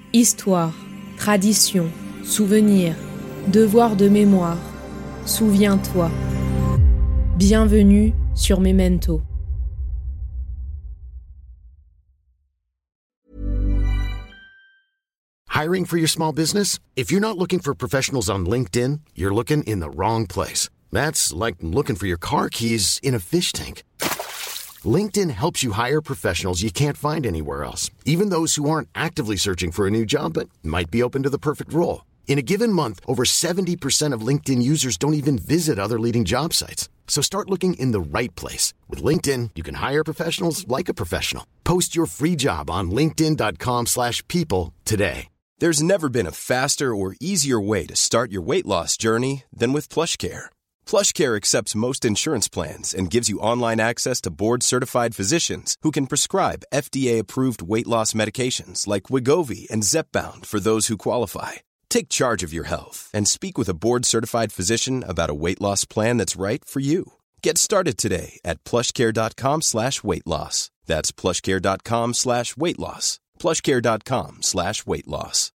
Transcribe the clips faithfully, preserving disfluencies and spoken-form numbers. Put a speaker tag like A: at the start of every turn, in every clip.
A: Histoire, tradition, souvenir, devoir de mémoire, souviens-toi. Bienvenue sur Memento.
B: Hiring for your small business? If you're not looking for professionals on LinkedIn, you're looking in the wrong place. That's like looking for your car keys in a fish tank. LinkedIn helps you hire professionals you can't find anywhere else, even those who aren't actively searching for a new job but might be open to the perfect role. In a given month, over seventy percent of LinkedIn users don't even visit other leading job sites. So start looking in the right place. With LinkedIn, you can hire professionals like a professional. Post your free job on linkedin.com slash people today.
C: There's never been a faster or easier way to start your weight loss journey than with PlushCare. PlushCare accepts most insurance plans and gives you online access to board-certified physicians who can prescribe F D A-approved weight loss medications like Wegovy and Zepbound for those who qualify. Take charge of your health and speak with a board-certified physician about a weight loss plan that's right for you. Get started today at plushcare.com slash weight loss. That's plushcare.com slash weight loss. plushcare.com slash weight loss.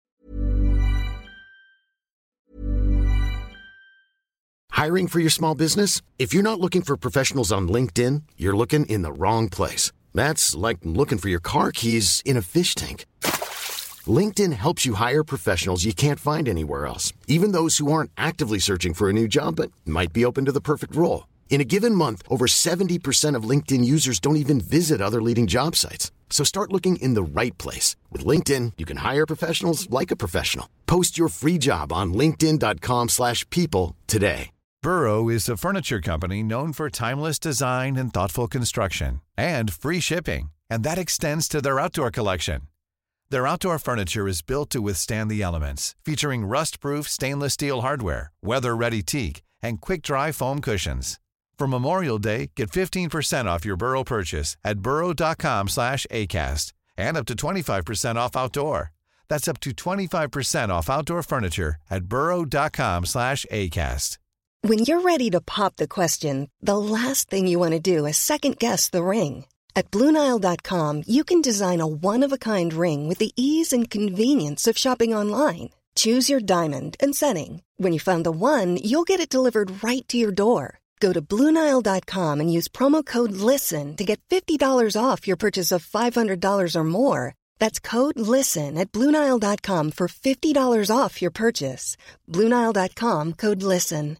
B: Hiring for your small business? If you're not looking for professionals on LinkedIn, you're looking in the wrong place. That's like looking for your car keys in a fish tank. LinkedIn helps you hire professionals you can't find anywhere else, even those who aren't actively searching for a new job but might be open to the perfect role. In a given month, over seventy percent of LinkedIn users don't even visit other leading job sites. So start looking in the right place. With LinkedIn, you can hire professionals like a professional. Post your free job on linkedin.com slash people today.
D: Burrow is a furniture company known for timeless design and thoughtful construction, and free shipping, and that extends to their outdoor collection. Their outdoor furniture is built to withstand the elements, featuring rust-proof stainless steel hardware, weather-ready teak, and quick-dry foam cushions. For Memorial Day, get fifteen percent off your Burrow purchase at burrow.com slash ACAST and up to twenty-five percent off outdoor. That's up to twenty-five percent off outdoor furniture at burrow.com slash ACAST.
E: When you're ready to pop the question, the last thing you want to do is second-guess the ring. At Blue Nile dot com, you can design a one-of-a-kind ring with the ease and convenience of shopping online. Choose your diamond and setting. When you find the one, you'll get it delivered right to your door. Go to Blue Nile dot com and use promo code LISTEN to get fifty dollars off your purchase of five hundred dollars or more. That's code LISTEN at Blue Nile dot com for fifty dollars off your purchase. Blue Nile dot com, code LISTEN.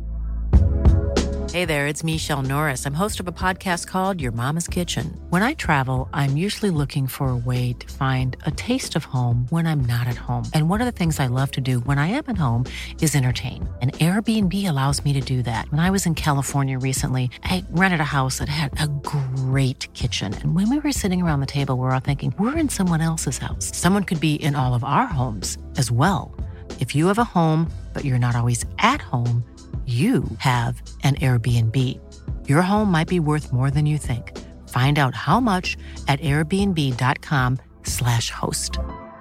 F: Hey there, it's Michelle Norris. I'm host of a podcast called Your Mama's Kitchen. When I travel, I'm usually looking for a way to find a taste of home when I'm not at home. And one of the things I love to do when I am at home is entertain. And Airbnb allows me to do that. When I was in California recently, I rented a house that had a great kitchen. And when we were sitting around the table, we were all thinking, we're in someone else's house. Someone could be in all of our homes as well. If you have a home, but you're not always at home, you have an Airbnb. Your home might be worth more than you think. Find out how much at airbnb.com slash host.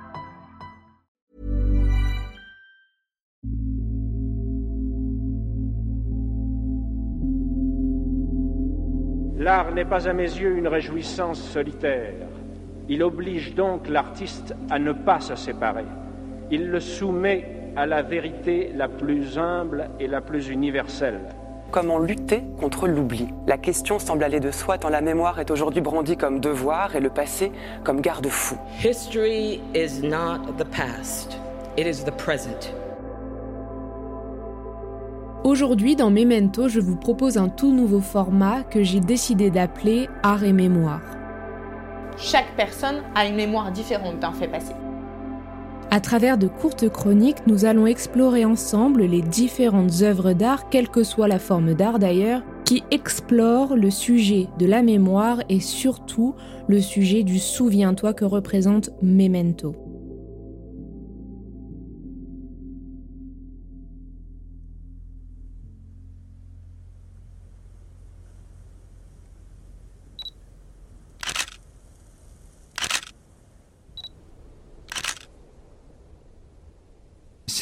G: L'art n'est pas à mes yeux une réjouissance solitaire. Il oblige donc l'artiste à ne pas se séparer. Il le soumet à la vérité la plus humble et la plus universelle.
H: Comment lutter contre l'oubli? La question semble aller de soi tant la mémoire est aujourd'hui brandie comme devoir et le passé comme garde-fou.
I: History is not the past, it is the present.
A: Aujourd'hui, dans Memento, je vous propose un tout nouveau format que j'ai décidé d'appeler Art et Mémoire.
J: Chaque personne a une mémoire différente d'un fait passé.
A: À travers de courtes chroniques, nous allons explorer ensemble les différentes œuvres d'art, quelle que soit la forme d'art d'ailleurs, qui explorent le sujet de la mémoire et surtout le sujet du souviens-toi que représente Memento.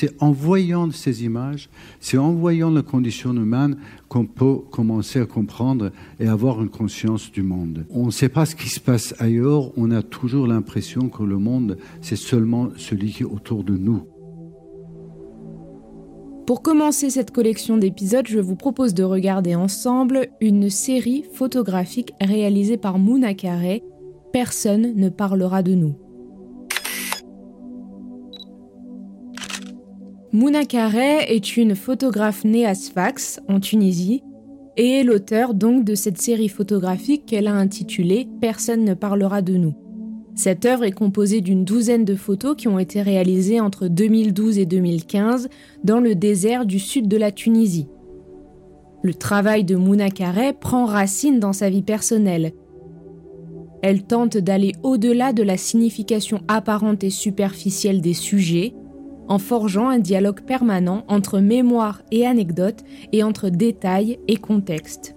K: c'est en voyant ces images, c'est en voyant la condition humaine qu'on peut commencer à comprendre et avoir une conscience du monde. On ne sait pas ce qui se passe ailleurs, on a toujours l'impression que le monde, c'est seulement celui qui est autour de nous.
A: Pour commencer cette collection d'épisodes, je vous propose de regarder ensemble une série photographique réalisée par Mouna Carré, « Personne ne parlera de nous ». Mouna Carré est une photographe née à Sfax, en Tunisie, et est l'auteur donc de cette série photographique qu'elle a intitulée « Personne ne parlera de nous ». Cette œuvre est composée d'une douzaine de photos qui ont été réalisées entre deux mille douze et deux mille quinze dans le désert du sud de la Tunisie. Le travail de Mouna Carré prend racine dans sa vie personnelle. Elle tente d'aller au-delà de la signification apparente et superficielle des sujets, en forgeant un dialogue permanent entre mémoire et anecdote et entre détails et contexte.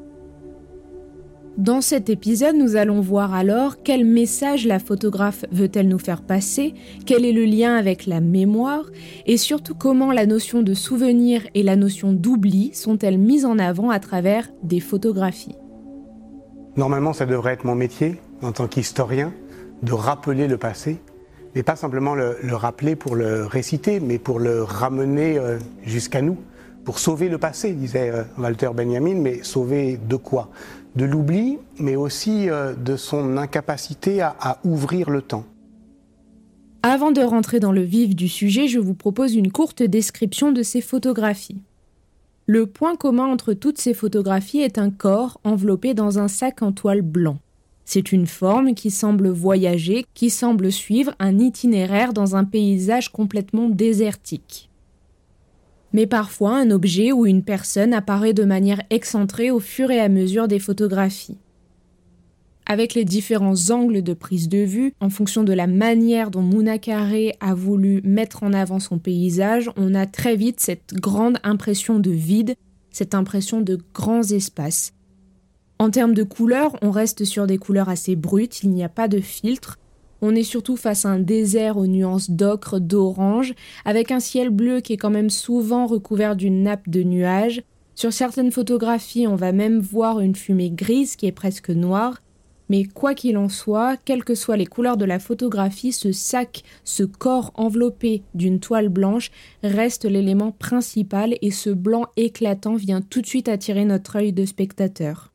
A: Dans cet épisode, nous allons voir alors quel message la photographe veut-elle nous faire passer, quel est le lien avec la mémoire, et surtout comment la notion de souvenir et la notion d'oubli sont-elles mises en avant à travers des photographies.
L: Normalement, ça devrait être mon métier, en tant qu'historien, de rappeler le passé, mais pas simplement le, le rappeler pour le réciter, mais pour le ramener euh, jusqu'à nous, pour sauver le passé, disait euh, Walter Benjamin, mais sauver de quoi ? De l'oubli, mais aussi euh, de son incapacité à, à ouvrir le temps.
A: Avant de rentrer dans le vif du sujet, je vous propose une courte description de ces photographies. Le point commun entre toutes ces photographies est un corps enveloppé dans un sac en toile blanc. C'est une forme qui semble voyager, qui semble suivre un itinéraire dans un paysage complètement désertique. Mais parfois, un objet ou une personne apparaît de manière excentrée au fur et à mesure des photographies. Avec les différents angles de prise de vue, en fonction de la manière dont Mouna Carré a voulu mettre en avant son paysage, on a très vite cette grande impression de vide, cette impression de grands espaces. En termes de couleurs, on reste sur des couleurs assez brutes, il n'y a pas de filtre. On est surtout face à un désert aux nuances d'ocre, d'orange, avec un ciel bleu qui est quand même souvent recouvert d'une nappe de nuages. Sur certaines photographies, on va même voir une fumée grise qui est presque noire. Mais quoi qu'il en soit, quelles que soient les couleurs de la photographie, ce sac, ce corps enveloppé d'une toile blanche reste l'élément principal et ce blanc éclatant vient tout de suite attirer notre œil de spectateur.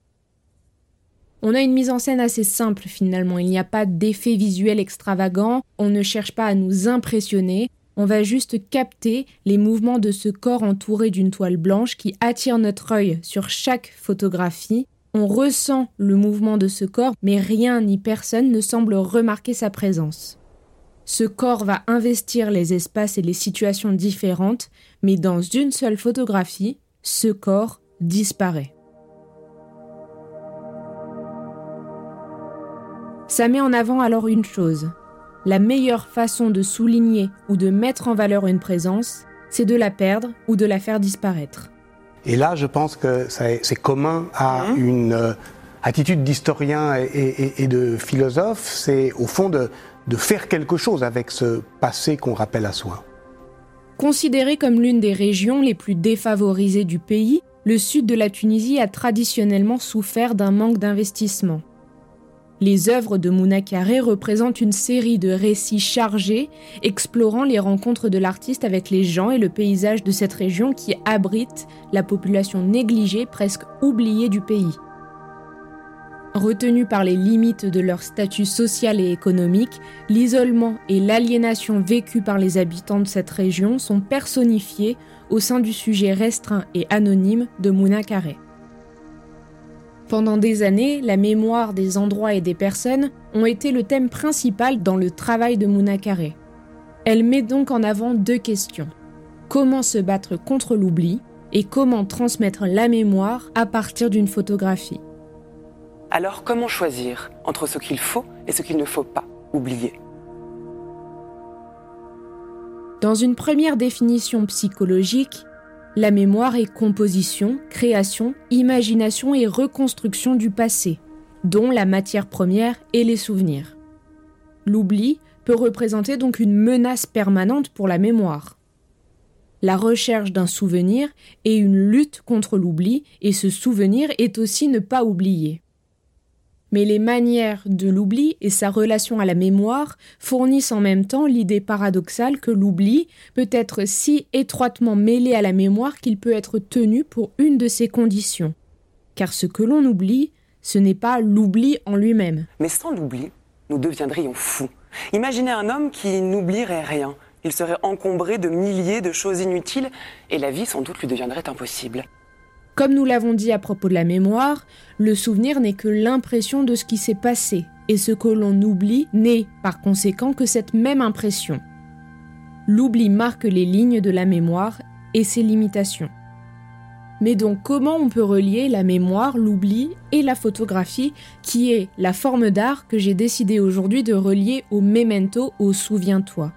A: On a une mise en scène assez simple finalement, il n'y a pas d'effet visuel extravagant, on ne cherche pas à nous impressionner, on va juste capter les mouvements de ce corps entouré d'une toile blanche qui attire notre œil sur chaque photographie. On ressent le mouvement de ce corps, mais rien ni personne ne semble remarquer sa présence. Ce corps va investir les espaces et les situations différentes, mais dans une seule photographie, ce corps disparaît. Ça met en avant alors une chose. La meilleure façon de souligner ou de mettre en valeur une présence, c'est de la perdre ou de la faire disparaître.
L: Et là, je pense que c'est commun à mmh. une euh, attitude d'historien et, et, et de philosophe, c'est au fond de, de faire quelque chose avec ce passé qu'on rappelle à soi.
A: Considéré comme l'une des régions les plus défavorisées du pays, le sud de la Tunisie a traditionnellement souffert d'un manque d'investissement. Les œuvres de Mouna Carré représentent une série de récits chargés, explorant les rencontres de l'artiste avec les gens et le paysage de cette région qui abrite la population négligée, presque oubliée du pays. Retenus par les limites de leur statut social et économique, l'isolement et l'aliénation vécus par les habitants de cette région sont personnifiés au sein du sujet restreint et anonyme de Mouna Carré. Pendant des années, la mémoire des endroits et des personnes ont été le thème principal dans le travail de Mouna Carré. Elle met donc en avant deux questions. Comment se battre contre l'oubli et comment transmettre la mémoire à partir d'une photographie.
H: Alors comment choisir entre ce qu'il faut et ce qu'il ne faut pas oublier ?
A: Dans une première définition psychologique, la mémoire est composition, création, imagination et reconstruction du passé, dont la matière première est les souvenirs. L'oubli peut représenter donc une menace permanente pour la mémoire. la recherche d'un souvenir est une lutte contre l'oubli, et ce souvenir est aussi ne pas oublier. Mais les manières de l'oubli et sa relation à la mémoire fournissent en même temps l'idée paradoxale que l'oubli peut être si étroitement mêlé à la mémoire qu'il peut être tenu pour une de ses conditions. Car ce que l'on oublie, ce n'est pas l'oubli en lui-même.
H: Mais sans l'oubli, nous deviendrions fous. Imaginez un homme qui n'oublierait rien. Il serait encombré de milliers de choses inutiles et la vie sans doute lui deviendrait impossible.
A: Comme nous l'avons dit à propos de la mémoire, le souvenir n'est que l'impression de ce qui s'est passé, et ce que l'on oublie n'est, par conséquent, que cette même impression. L'oubli marque les lignes de la mémoire et ses limitations. Mais donc comment on peut relier la mémoire, l'oubli et la photographie, qui est la forme d'art que j'ai décidé aujourd'hui de relier au memento, au souviens-toi.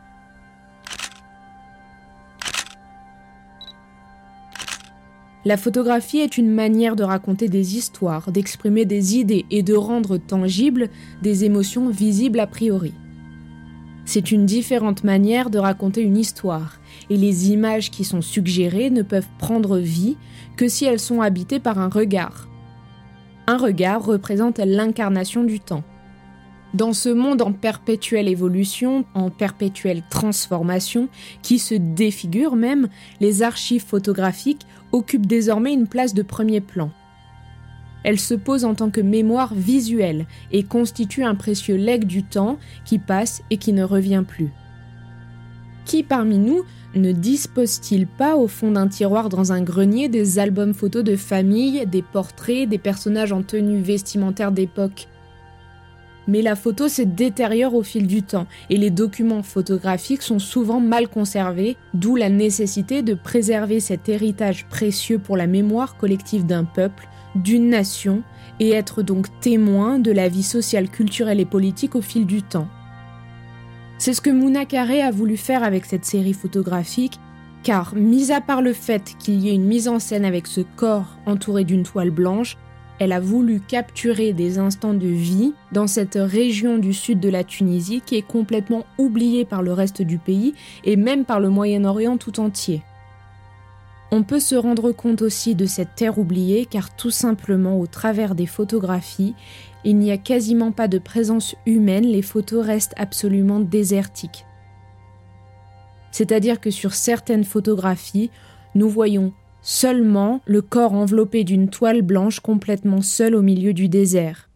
A: La photographie est une manière de raconter des histoires, d'exprimer des idées et de rendre tangibles des émotions visibles a priori. C'est une différente manière de raconter une histoire, et les images qui sont suggérées ne peuvent prendre vie que si elles sont habitées par un regard. Un regard représente l'incarnation du temps. Dans ce monde en perpétuelle évolution, en perpétuelle transformation, qui se défigure même, les archives photographiques occupent désormais une place de premier plan. Elles se posent en tant que mémoire visuelle et constituent un précieux legs du temps qui passe et qui ne revient plus. Qui parmi nous ne dispose-t-il pas au fond d'un tiroir dans un grenier des albums photos de famille, des portraits, des personnages en tenue vestimentaire d'époque ? Mais la photo se détériore au fil du temps et les documents photographiques sont souvent mal conservés, d'où la nécessité de préserver cet héritage précieux pour la mémoire collective d'un peuple, d'une nation, et être donc témoin de la vie sociale, culturelle et politique au fil du temps. C'est ce que Mouna Carré a voulu faire avec cette série photographique, car, mis à part le fait qu'il y ait une mise en scène avec ce corps entouré d'une toile blanche, elle a voulu capturer des instants de vie dans cette région du sud de la Tunisie qui est complètement oubliée par le reste du pays et même par le Moyen-Orient tout entier. On peut se rendre compte aussi de cette terre oubliée car tout simplement au travers des photographies, il n'y a quasiment pas de présence humaine, les photos restent absolument désertiques. C'est-à-dire que sur certaines photographies, nous voyons seulement le corps enveloppé d'une toile blanche complètement seul au milieu du désert.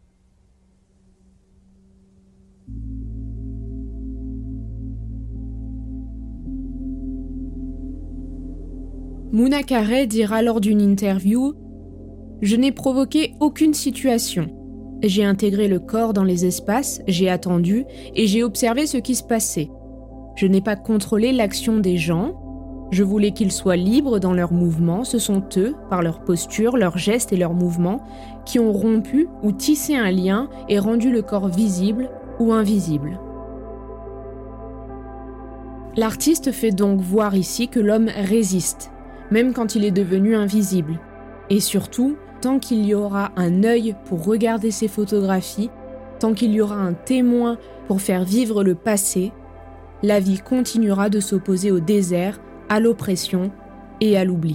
A: Mouna Carré dira lors d'une interview « Je n'ai provoqué aucune situation. J'ai intégré le corps dans les espaces, j'ai attendu et j'ai observé ce qui se passait. Je n'ai pas contrôlé l'action des gens. Je voulais qu'ils soient libres dans leurs mouvements. Ce sont eux, par leur posture, leurs gestes et leurs mouvements, qui ont rompu ou tissé un lien et rendu le corps visible ou invisible. » L'artiste fait donc voir ici que l'homme résiste, même quand il est devenu invisible. Et surtout, tant qu'il y aura un œil pour regarder ces photographies, tant qu'il y aura un témoin pour faire vivre le passé, la vie continuera de s'opposer au désert, à l'oppression et à l'oubli.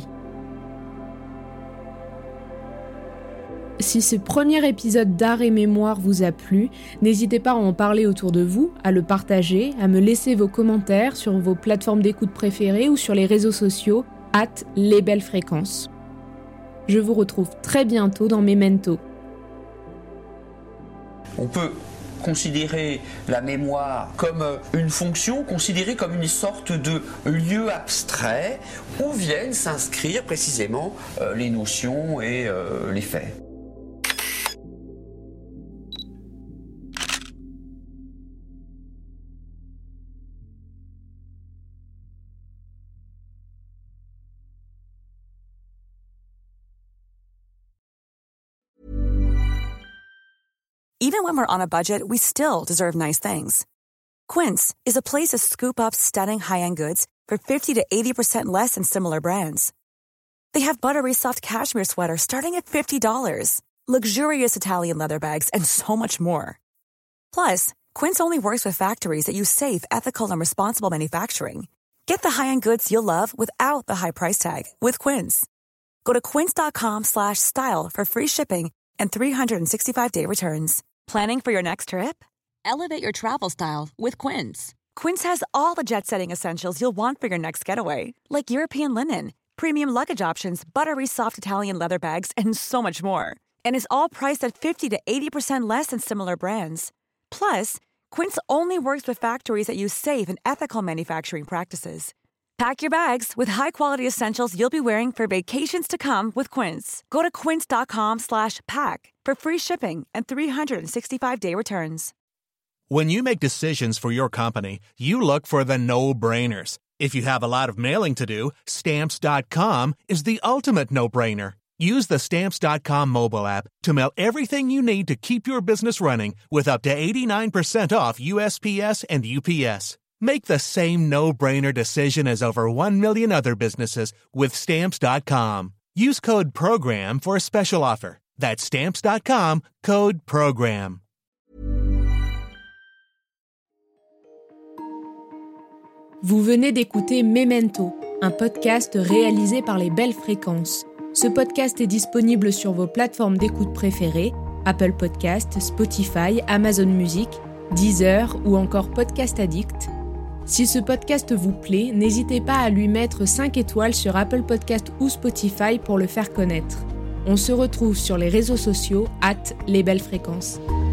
A: Si ce premier épisode d'Art et Mémoire vous a plu, n'hésitez pas à en parler autour de vous, à le partager, à me laisser vos commentaires sur vos plateformes d'écoute préférées ou sur les réseaux sociaux, at les belles fréquences. Je vous retrouve très bientôt dans Memento.
M: On peut considérer la mémoire comme une fonction, considérée comme une sorte de lieu abstrait où viennent s'inscrire précisément euh, les notions et euh, les faits.
N: Even when we're on a budget, we still deserve nice things. Quince is a place to scoop up stunning high-end goods for fifty to eighty percent less than similar brands. They have buttery soft cashmere sweaters starting at fifty dollars, luxurious Italian leather bags, and so much more. Plus, Quince only works with factories that use safe, ethical, and responsible manufacturing. Get the high-end goods you'll love without the high price tag with Quince. Go to quince.com slash style for free shipping and three sixty-five day returns. Planning for your next trip? Elevate your travel style with Quince. Quince has all the jet-setting essentials you'll want for your next getaway, like European linen, premium luggage options, buttery soft Italian leather bags, and so much more. And is all priced at fifty to eighty percent less than similar brands. Plus, Quince only works with factories that use safe and ethical manufacturing practices. Pack your bags with high-quality essentials you'll be wearing for vacations to come with Quince. Go to quince.com slash pack for free shipping and three sixty-five day returns.
O: When you make decisions for your company, you look for the no-brainers. If you have a lot of mailing to do, Stamps dot com is the ultimate no-brainer. Use the Stamps dot com mobile app to mail everything you need to keep your business running with up to eighty-nine percent off U S P S and U P S. Make the same no-brainer decision as over one million other businesses with Stamps dot com. Use code PROGRAM for a special offer. That's Stamps dot com, code PROGRAM.
A: Vous venez d'écouter Memento, un podcast réalisé par les Belles Fréquences. Ce podcast est disponible sur vos plateformes d'écoute préférées, Apple Podcasts, Spotify, Amazon Music, Deezer ou encore Podcast Addict. Si ce podcast vous plaît, n'hésitez pas à lui mettre cinq étoiles sur Apple Podcasts ou Spotify pour le faire connaître. On se retrouve sur les réseaux sociaux arobase les belles fréquences.